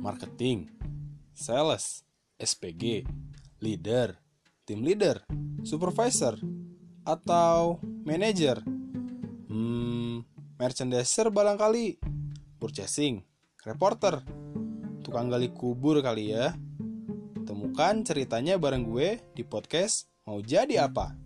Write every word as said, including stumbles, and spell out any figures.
marketing, sales, S P G, leader, team leader, supervisor, atau manager? Hmm, merchandiser barangkali, purchasing, reporter, tukang gali kubur kali ya. Temukan ceritanya bareng gue di podcast Mau Jadi Apa?